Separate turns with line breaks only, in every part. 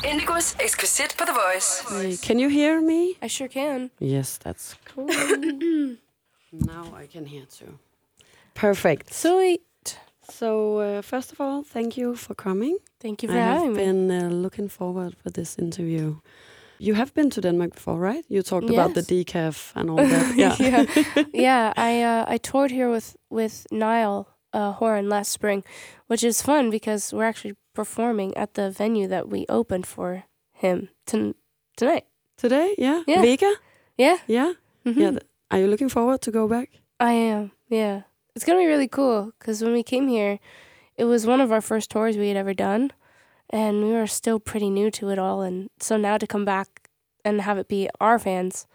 Indigos eksklusivt på The Voice.
Hey, can you hear me?
I sure can.
Yes, that's cool. Now I can hear too. Perfect.
Sweet.
So, first of all, thank you for coming.
Thank you for having me.
I have been looking forward for this interview. You have been to Denmark before, right? You talked about the decaf and all that.
Yeah. I toured here with Niall Horan last spring, which is fun because we're actually performing at the venue that we opened for him tonight.
Today? Yeah.
Yeah.
Vega?
Yeah.
Yeah.
Mm-hmm.
Yeah. Are you looking forward to go back?
I am. Yeah. It's gonna be really cool because when we came here, it was one of our first tours we had ever done. And we were still pretty new to it all. And so now to come back and have it be our fans,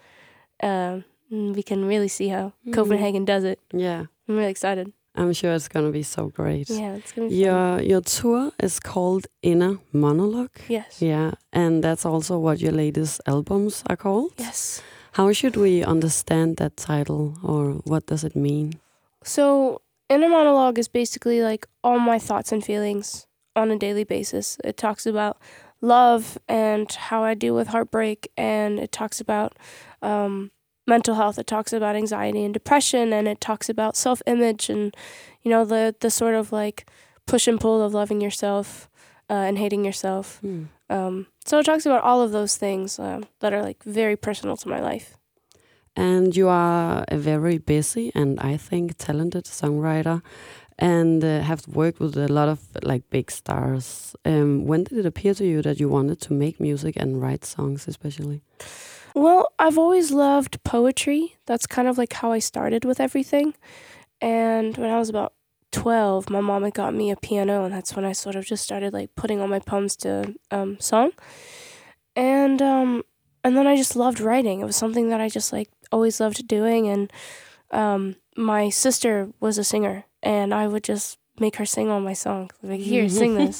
we can really see how Copenhagen does it.
Yeah.
I'm really excited.
I'm sure it's going to be so great.
Yeah, it's going to be fun.
Your tour is called Inner Monologue.
Yes.
Yeah, and that's also what your latest albums are called.
Yes.
How should we understand that title, or what does it mean?
So, Inner Monologue is basically like all my thoughts and feelings on a daily basis. It talks about love and how I deal with heartbreak, and it talks about mental health. It talks about anxiety and depression, and it talks about self-image and, you know, the sort of like push and pull of loving yourself and hating yourself. So it talks about all of those things that are like very personal to my life.
And you are a very busy and I think talented songwriter, and have worked with a lot of like big stars. When did it appear to you that you wanted to make music and write songs especially?
Well, I've always loved poetry. That's kind of like how I started with everything. And when I was about 12, my mom had got me a piano, and that's when I sort of just started like putting all my poems to song. And then I just loved writing. It was something that I just like always loved doing. And my sister was a singer, and I would just make her sing all my songs. Like, here, sing this.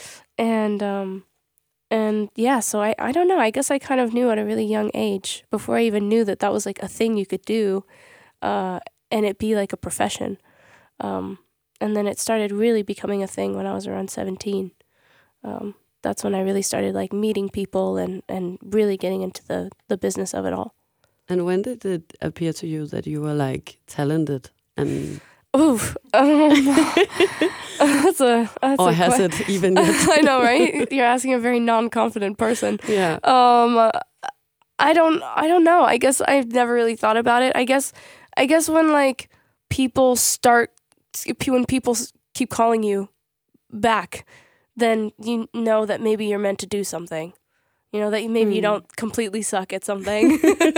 And yeah, so I don't know. I guess I kind of knew at a really young age, before I even knew that that was like a thing you could do, and it be like a profession. And then it started really becoming a thing when I was around 17. That's when I really started like meeting people and really getting into the business of it all.
And when did it appear to you that you were like talented and...
Oof. That's
or has it even yet?
I know, right? You're asking a very non-confident person.
Yeah.
I don't know. I guess I've never really thought about it. I guess when like when people keep calling you back, then you know that maybe you're meant to do something. You know, that maybe you don't completely suck at something.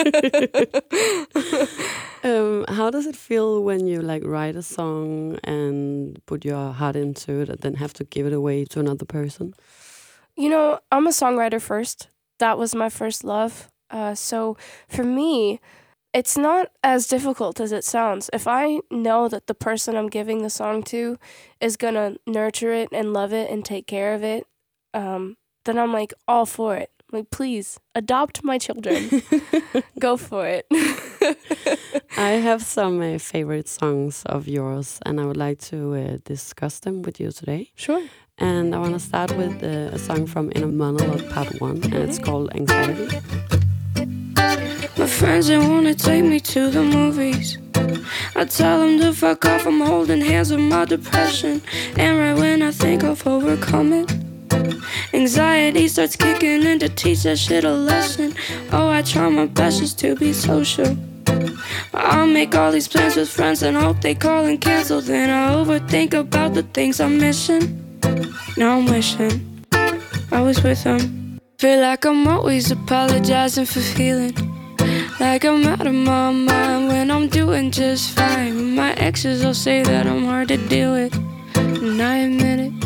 How does it feel when you like write a song and put your heart into it and then have to give it away to another person?
You know, I'm a songwriter first. That was my first love. So for me, it's not as difficult as it sounds. If I know that the person I'm giving the song to is going to nurture it and love it and take care of it, then I'm like all for it. Like, please, adopt my children. Go for it.
I have some favorite songs of yours, and I would like to discuss them with you today.
Sure.
And I want to start with a song from Inner Monologue Part 1, and it's called Anxiety.
My friends, they wanna take me to the movies. I tell them to fuck off, I'm holding hands with my depression. And right when I think I've overcome it, anxiety starts kicking in to teach that shit a lesson. Oh, I try my best just to be social. I'll make all these plans with friends and hope they call and cancel. Then I overthink about the things I'm missing. Now I'm wishing I was with them. Feel like I'm always apologizing for feeling like I'm out of my mind when I'm doing just fine. My exes will say that I'm hard to deal with, and I admit it.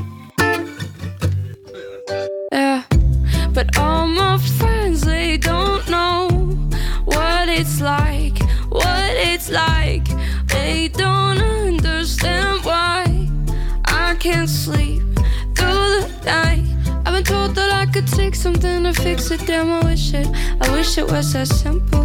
Yeah, but all my friends, they don't know what it's like, what it's like. They don't understand why I can't sleep through the night. I've been told that I could take something to fix it. Damn, I wish it was that simple.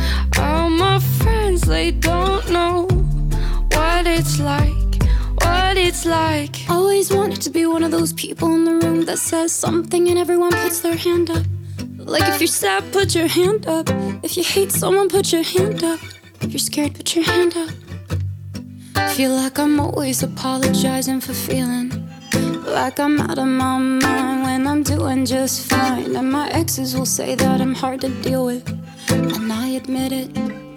All my friends, they don't know what it's like, what what it's like.
Always wanted to be one of those people in the room that says something and everyone puts their hand up. Like if you're sad, put your hand up. If you hate someone, put your hand up. If you're scared, put your hand up. Feel like I'm always apologizing for feeling like I'm out of my mind when I'm doing just fine. And my exes will say that I'm hard to deal with, and I admit it.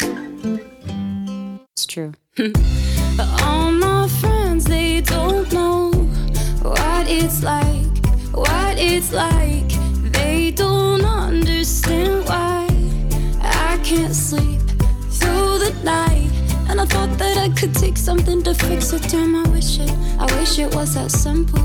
It's true.
But all my friends, they don't know what it's like, what it's like. They don't understand why I can't sleep through the night. And I thought that I could take something to fix it. Damn, I wish it was that simple.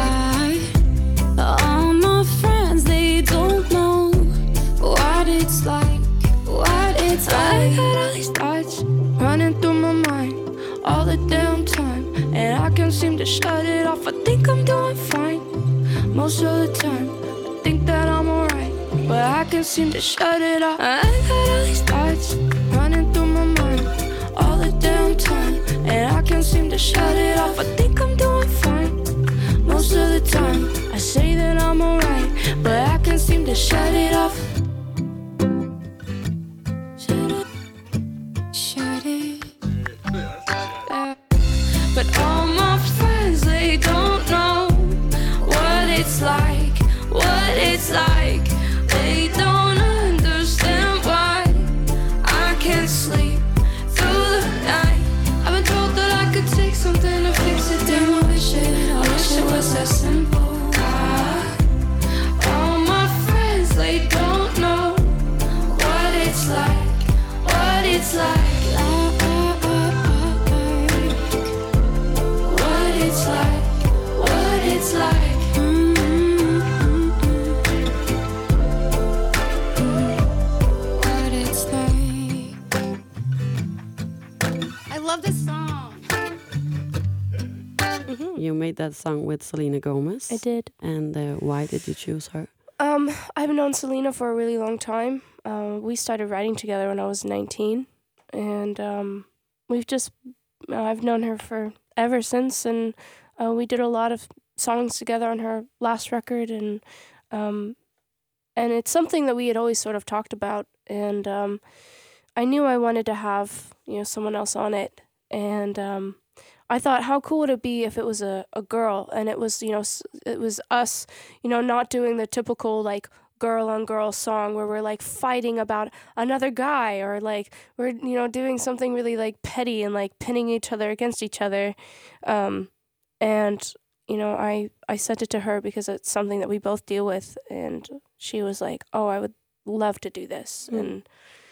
All my friends, they don't know what it's like, what it's like.
I got all these thoughts running through my mind all the damn time, and I can't seem to shut it off. I think I'm doing fine most of the time. I think that I'm alright, but I can't seem to shut it off. I got all these thoughts running through my mind all the damn time, and I can't seem to shut it off. I think I'm doing fine most of the time. I say that I'm alright, but I can't seem to shut it off.
Shut it.
But all my friends, they don't know what it's like, what it's like. They don't understand why I can't sleep through the night. I've been told that I could take something to fix it. Damn, I wish it was that simple. All my friends, they don't know what it's like, what it's like. What it's like, what it's like.
What it's like. I love this song.
You made that song with Selena Gomez.
I did.
And why did you choose her?
I've known Selena for a really long time. We started writing together when I was 19, and I've known her for ever since, and we did a lot of songs together on her last record, and it's something that we had always sort of talked about, and I knew I wanted to have someone else on it, and I thought, how cool would it be if it was a girl, and it was it was us, not doing the typical like girl on girl song where we're like fighting about another guy, or like we're doing something really like petty and like pinning each other against each other, and I sent it to her because it's something that we both deal with, and she was like, oh, I would love to do this. And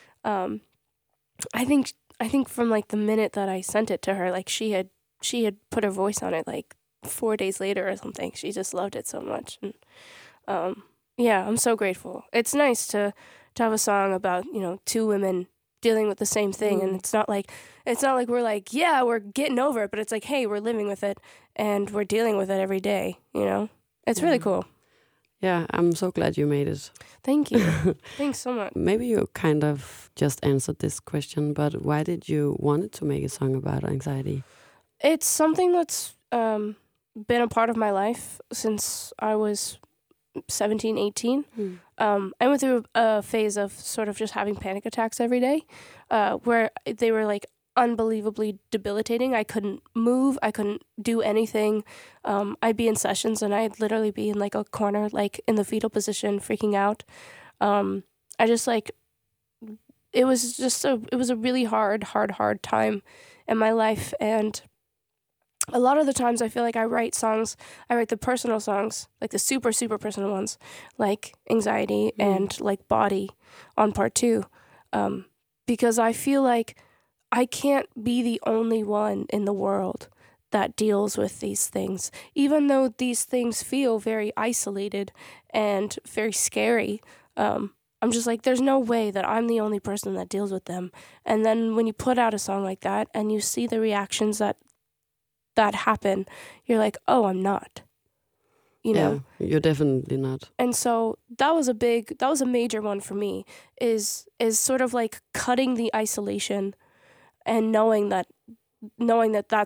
I think from like the minute that I sent it to her, like she had put her voice on it like 4 days later or something. She just loved it so much, and yeah, I'm so grateful. It's nice to have a song about two women dealing with the same thing, and it's not like we're like, yeah, we're getting over it, but it's like, hey, we're living with it and we're dealing with it every day. It's really cool.
Yeah, I'm so glad you made it.
Thank you. Thanks so much.
Maybe you kind of just answered this question, but why did you want to make a song about anxiety?
It's something that's been a part of my life since I was 17, 18. I went through a phase of sort of just having panic attacks every day, where they were like unbelievably debilitating. I couldn't move. I couldn't do anything. I'd be in sessions and I'd literally be in like a corner, like in the fetal position, freaking out. I just like, it was a really hard time in my life. And a lot of the times I feel like I write the personal songs, like the super, super personal ones, like Anxiety and like Body on part 2, because I feel like I can't be the only one in the world that deals with these things. Even though these things feel very isolated and very scary, I'm just like, there's no way that I'm the only person that deals with them. And then when you put out a song like that and you see the reactions that happen, you're like, oh, I'm not.
Yeah, you're definitely not.
And so that was a major one for me, is sort of like cutting the isolation and knowing that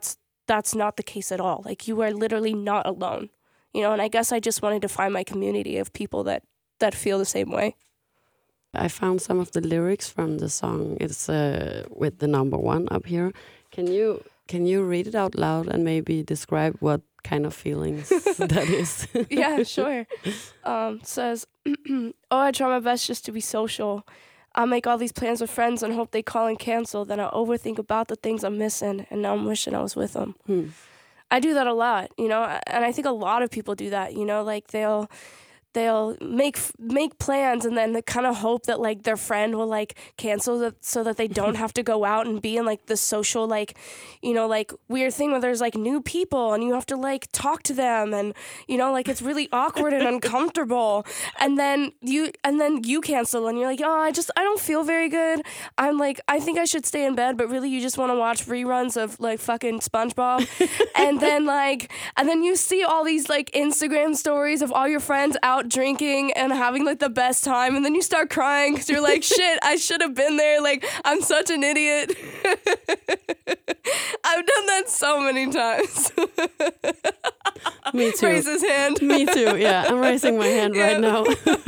that's not the case at all. Like, you are literally not alone, you know. And I guess I just wanted to find my community of people that feel the same way.
I found some of the lyrics from the song. It's with the number 1 up here. Can you read it out loud and maybe describe what kind of feelings that is?
Yeah, sure. It says, oh, I try my best just to be social. I make all these plans with friends and hope they call and cancel. Then I overthink about the things I'm missing, and now I'm wishing I was with them. I do that a lot, you know, and I think a lot of people do that, you know, like they'll make plans and then they kind of hope that like their friend will like cancel it so that they don't have to go out and be in like the social, like, you know, like weird thing where there's like new people and you have to like talk to them, and you know, like it's really awkward and uncomfortable, and then you cancel and you're like, oh, I don't feel very good, I'm like, I think I should stay in bed, but really you just want to watch reruns of like fucking SpongeBob. and then you see all these like Instagram stories of all your friends out drinking and having like the best time, and then you start crying because you're like, shit, I should have been there, like I'm such an idiot. I've done that so many times.
Me too.
Raise his hand.
Me too, yeah, I'm raising my hand right now.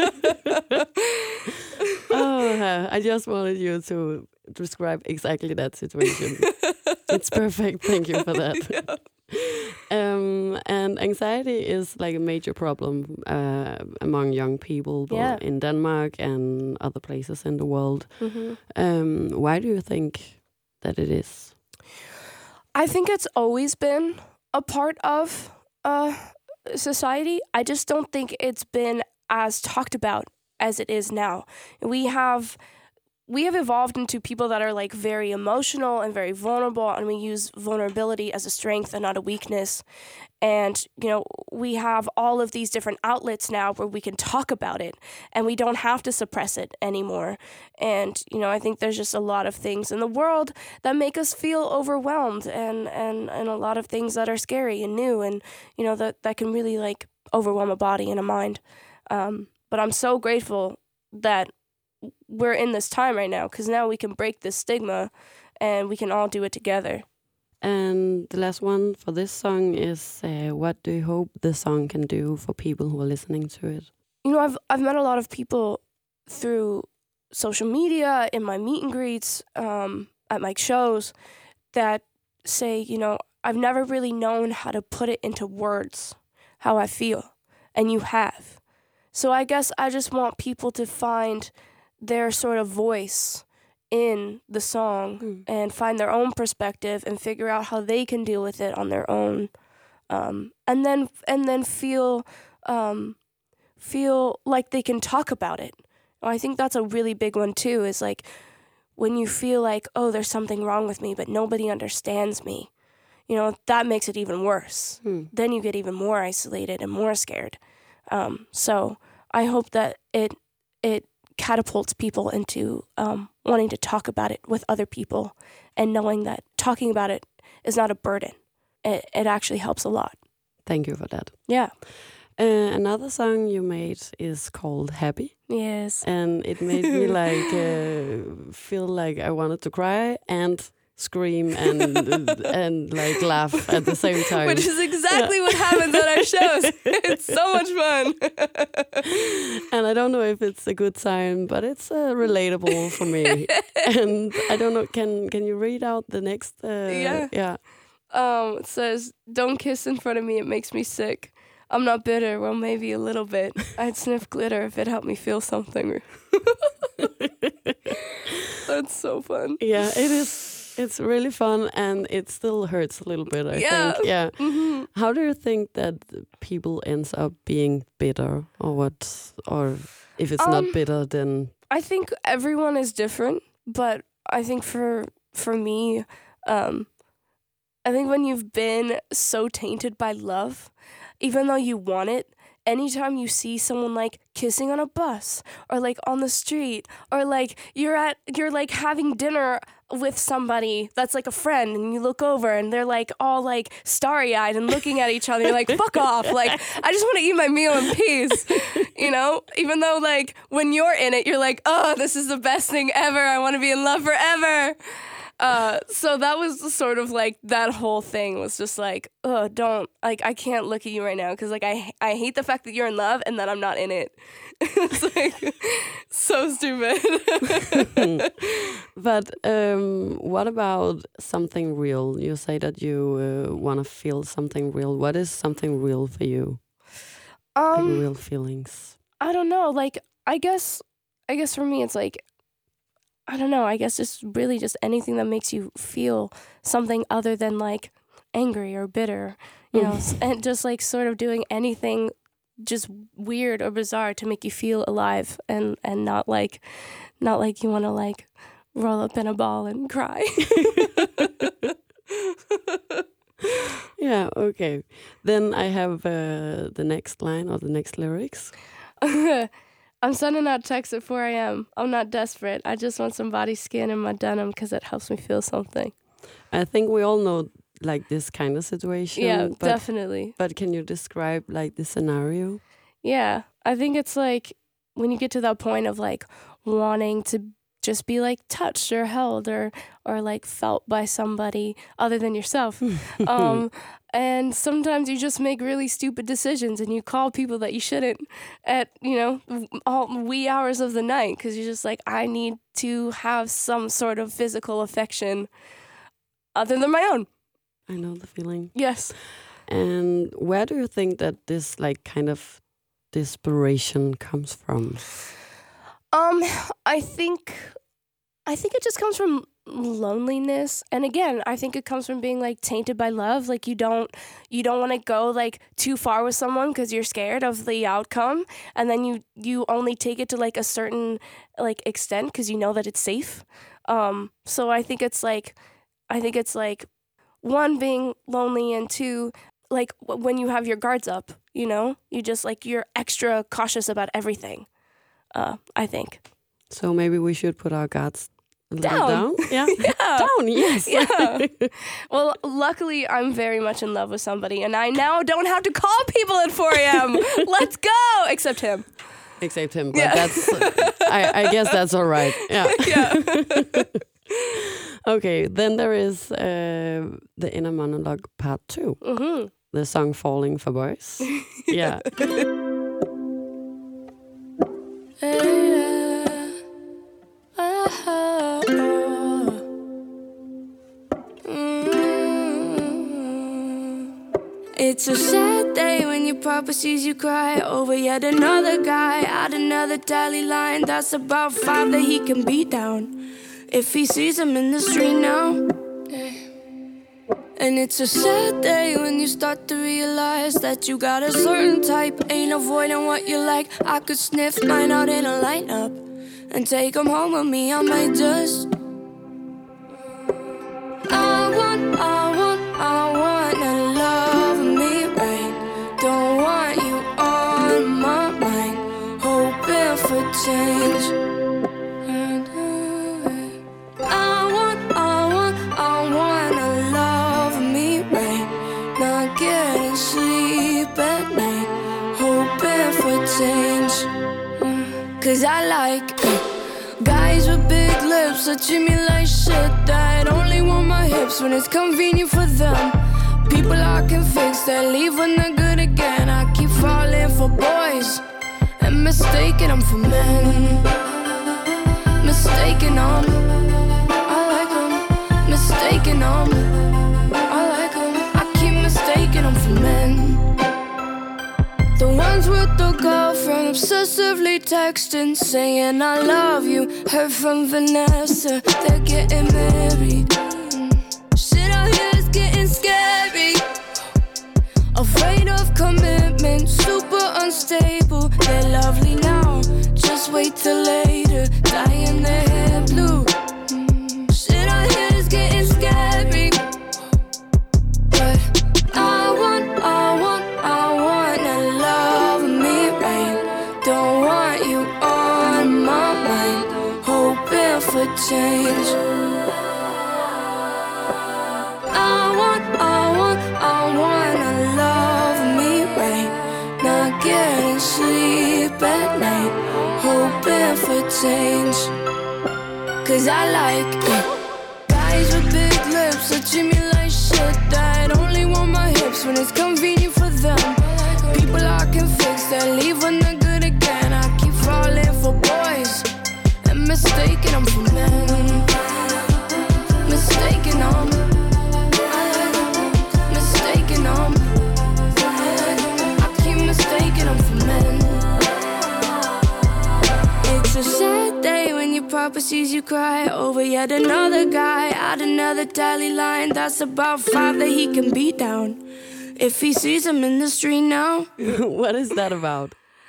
Oh, I just wanted you to describe exactly that situation. It's perfect, thank you for that.
Yeah.
And anxiety is like a major problem among young people, both in Denmark and other places in the world. Why do you think that it is?
I think it's always been a part of society. I just don't think it's been as talked about as it is now. We have evolved into people that are like very emotional and very vulnerable, and we use vulnerability as a strength and not a weakness. And, you know, we have all of these different outlets now where we can talk about it and we don't have to suppress it anymore. And, you know, I think there's just a lot of things in the world that make us feel overwhelmed, and a lot of things that are scary and new, and, you know, that can really like overwhelm a body and a mind. But I'm so grateful that we're in this time right now, because now we can break this stigma and we can all do it together.
And the last one for this song is, what do you hope the song can do for people who are listening to it?
You know, I've met a lot of people through social media, in my meet and greets, at my shows, that say, you know, I've never really known how to put it into words, how I feel, and you have. So I guess I just want people to find their sort of voice in the song and find their own perspective and figure out how they can deal with it on their own, and then feel like they can talk about it. I think that's a really big one too, is like when you feel like, oh, there's something wrong with me but nobody understands me, you know, that makes it even worse. Then you get even more isolated and more scared. So I hope that it catapults people into wanting to talk about it with other people, and knowing that talking about it is not a burden. It actually helps a lot.
Thank you for that.
Yeah.
Another song you made is called Happy.
Yes.
And it made me like feel like I wanted to cry and scream and like laugh at the same time.
Which is exactly what happens at our shows. It's so much fun.
And I don't know if it's a good sign, but it's relatable for me. And I don't know, can you read out the next? Yeah.
It says, "Don't kiss in front of me, it makes me sick. I'm not bitter, well, maybe a little bit. I'd sniff glitter if it helped me feel something." That's so fun.
Yeah, it is. It's really fun, and it still hurts a little bit, I think. Yeah. Mm-hmm. How do you think that people ends up being bitter, or what? Or if it's not bitter, then
I think everyone is different, but I think for me, I think when you've been so tainted by love, even though you want it, anytime you see someone like kissing on a bus or like on the street, or like you're like having dinner with somebody that's like a friend, and you look over and they're like all like starry-eyed and looking at each other, you're like, fuck off, like I just want to eat my meal in peace, you know, even though like when you're in it, you're like, oh, this is the best thing ever, I want to be in love forever. So that was sort of like that whole thing was just like, oh, don't, like, I can't look at you right now because like I hate the fact that you're in love and that I'm not in it. It's like so stupid.
But what about something real? You say that you want to feel something real. What is something real for you? Like real feelings.
I don't know. Like, I guess for me, it's like, I don't know. I guess just really just anything that makes you feel something other than like angry or bitter, you know, and just like sort of doing anything just weird or bizarre to make you feel alive and not like you want to like roll up in a ball and cry.
Yeah, okay. Then I have the next line or the next lyrics.
I'm sending out texts at 4 a.m. I'm not desperate. I just want somebody's skin in my denim because it helps me feel something.
I think we all know like this kind of situation.
Yeah, definitely.
But can you describe like the scenario?
Yeah, I think it's like when you get to that point of like wanting to just be like touched or held or like felt by somebody other than yourself. And sometimes you just make really stupid decisions and you call people that you shouldn't at, you know, all wee hours of the night because you're just like, I need to have some sort of physical affection other than my own.
I know the feeling.
Yes.
And where do you think that this like kind of desperation comes from?
I think it just comes from loneliness, and again, I think it comes from being like tainted by love. Like you don't want to go like too far with someone because you're scared of the outcome, and then you only take it to like a certain like extent because you know that it's safe. So I think it's like one, being lonely, and two, like when you have your guards up, you know, you just like you're extra cautious about everything. I think. So
maybe we should put our guards a little down.
Yeah.
Down, yes.
Yeah. Well, luckily, I'm very much in love with somebody, and I now don't have to call people at 4 a.m. Let's go! Except him.
But that's, I guess that's all right. Yeah.
Yeah.
Okay, then there is the Inner Monologue Part 2.
Mm-hmm.
The song Falling for Boys. Yeah.
It's a sad day when your papa sees you cry over yet another guy at another tally line. That's about 5 that he can beat down if he sees him in the street now. And it's a sad day when you start to realize that you got a certain type, ain't avoiding what you like. I could sniff mine out in a lineup and take them home with me. I might just I want to love me right. Don't want you on my mind, hoping for change. I want to love me right. Not getting sleep at night, hoping for change. 'Cause I like guys with big lips that treat me like shit, that only want my hips when it's convenient for them. People I can fix, that leave when they're good again. I keep falling for boys and mistaking them for men. Mistaking them, I like them. Mistaking them, I like them. I keep mistaking them for men. The ones with the girlfriend obsessively texting, saying I love you. Heard from Vanessa, they're getting married. Shit out here is getting scary. Afraid of commitment, super unstable. They're lovely now, just wait till later. Dyeing their hair blue. Shit out here is getting scary. But I want to love me right. Don't want you on my mind, hoping for change. I want to love me right. Not getting sleep at night, hoping for change. 'Cause I like eyes with big lips touching me like shit that only want my hips when it's convenient for them. People I can fix that leave when they're good again. I keep falling for boys and mistaking them for men. Mistaking them. Mistaking them. I keep mistaking them for men. It's a sad day when your papa sees you cry over yet another guy at another tally line. That's about 5 that he can beat down if he sees him in the street now.
What is that about?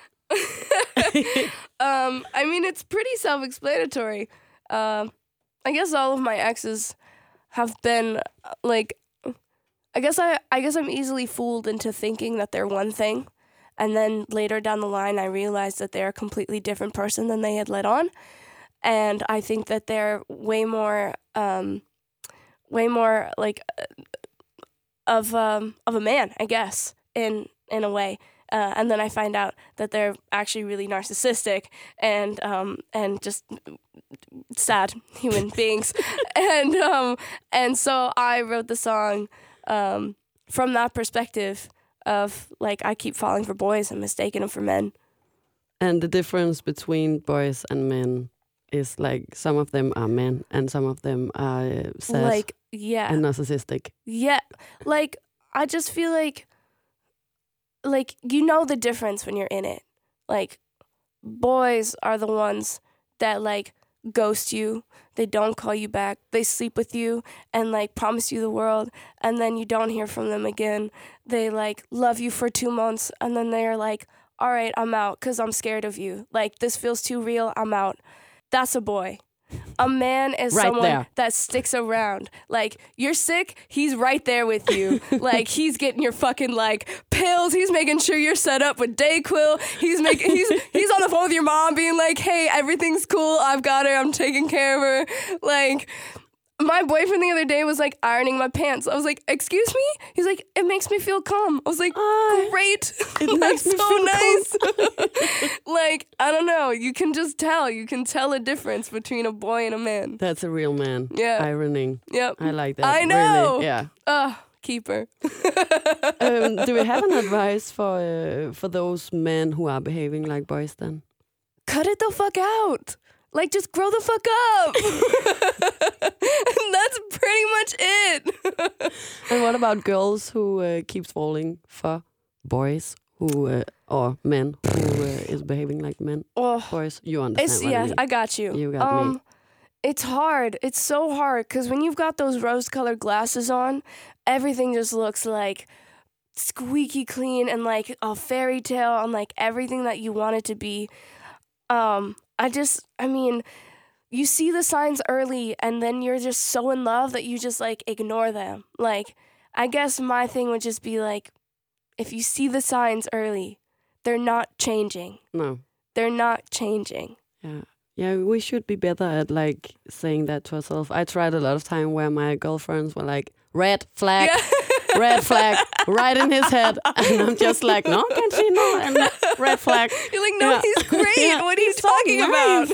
I mean, it's pretty self-explanatory. I guess all of my exes have been like, I guess I'm easily fooled into thinking that they're one thing, and then later down the line, I realized that they're a completely different person than they had let on, and I think that they're way more like of a man, I guess, in a way. And then I find out that they're actually really narcissistic and just sad human beings. And so I wrote the song from that perspective of, like, I keep falling for boys and mistaking them for men.
And the difference between boys and men is, like, some of them are men and some of them are sad,
like, yeah,
and narcissistic.
Yeah, like, I just feel like you know the difference when you're in it. Like, boys are the ones that, like, ghost you. They don't call you back. They sleep with you and, like, promise you the world, and then you don't hear from them again. They, like, love you for 2 months, and then they're like, all right, I'm out because I'm scared of you. Like, this feels too real. I'm out. That's a boy. A man is
right
someone
there.
that sticks around. Like, you're sick, he's right there with you. Like, he's getting your fucking, like, pills. He's making sure you're set up with Dayquil. He's on the phone with your mom being like, hey, everything's cool. I've got her. I'm taking care of her. Like, my boyfriend the other day was, like, ironing my pants. I was like, excuse me? He's like, it makes me feel calm. I was like, great.
It makes me
so
feel
nice. Like, I don't know. You can just tell. You can tell a difference between a boy and a man.
That's a real man.
Yeah.
Ironing.
Yep.
I like that.
I know.
Really. Yeah.
Keeper.
Do we have an advice for those men who are behaving like boys then?
Cut it the fuck out. Like, just grow the fuck up. And that's pretty much it.
And what about girls who keeps falling for boys who or men who is behaving like men?
Oh,
Boys, you understand what I mean.
I got you.
You got me.
It's hard. It's so hard because when you've got those rose-colored glasses on, everything just looks like squeaky clean and like a fairy tale and like everything that you want it to be. I mean, you see the signs early and then you're just so in love that you just like ignore them. Like, I guess my thing would just be like, if you see the signs early, they're not changing.
No.
They're not changing.
Yeah. Yeah, we should be better at like saying that to ourselves. I tried a lot of time where my girlfriends were like, red flag, red flag, right in his head. And I'm just like, no, can't see, no, and red flag.
You're like, no, he's great. What are you talking about?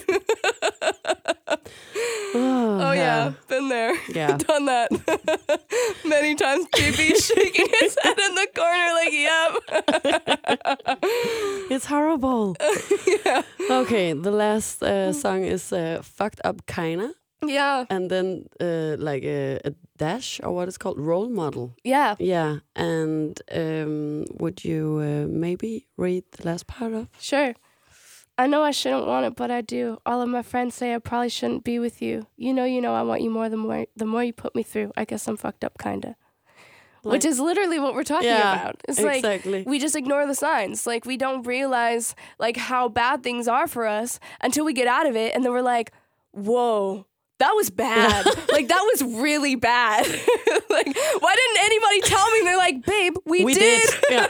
Oh, yeah. Been there.
Yeah.
Done that. Many times. JB shaking his head in the corner like, yep.
It's horrible.
Yeah.
Okay, the last song is Fucked Up Kinda.
Yeah.
And then like a dash, or what is called role model.
Yeah.
Yeah. And would you maybe read the last part of?
Sure. I know I shouldn't want it, but I do. All of my friends say I probably shouldn't be with you. You know, I want you more the more you put me through. I guess I'm fucked up, kinda. Like, which is literally what we're talking about. It's
exactly.
Like, we just ignore the signs. Like, we don't realize, like, how bad things are for us until we get out of it, and then we're like, whoa, that was bad. Like, that was really bad. Like, why didn't anybody tell me? And they're like, babe, we did.
Yeah.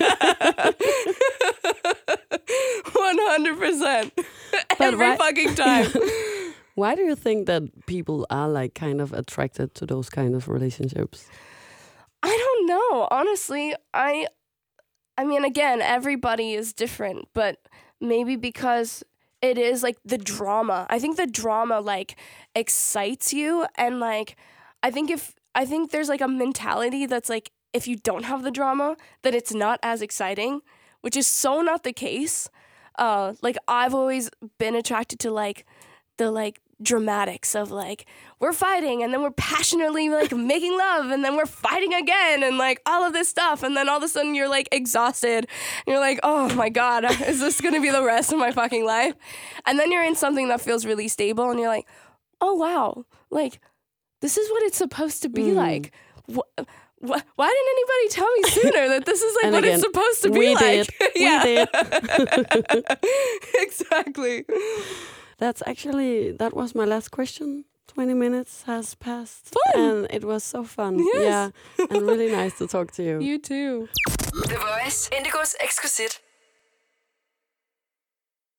100%. Every fucking time.
Why do you think that people are, like, kind of attracted to those kind of relationships?
I don't know. Honestly, I mean, again, everybody is different, but maybe because it is like the drama. I think the drama like excites you, and like I think there's like a mentality that's like if you don't have the drama, that it's not as exciting, which is so not the case. Like I've always been attracted to like the like dramatics of like we're fighting and then we're passionately like making love and then we're fighting again and like all of this stuff, and then all of a sudden you're like exhausted and you're like, oh my god, is this gonna be the rest of my fucking life? And then you're in something that feels really stable and you're like, oh wow, like this is what it's supposed to be like. Why didn't anybody tell me sooner that this is like what it's supposed to be like?
We did.
Exactly.
That was my last question. 20 minutes has passed.
Fun.
And it was so fun.
Yes.
Yeah. And really nice to talk to you.
You too.
The Voice, Indigo's Exquisite.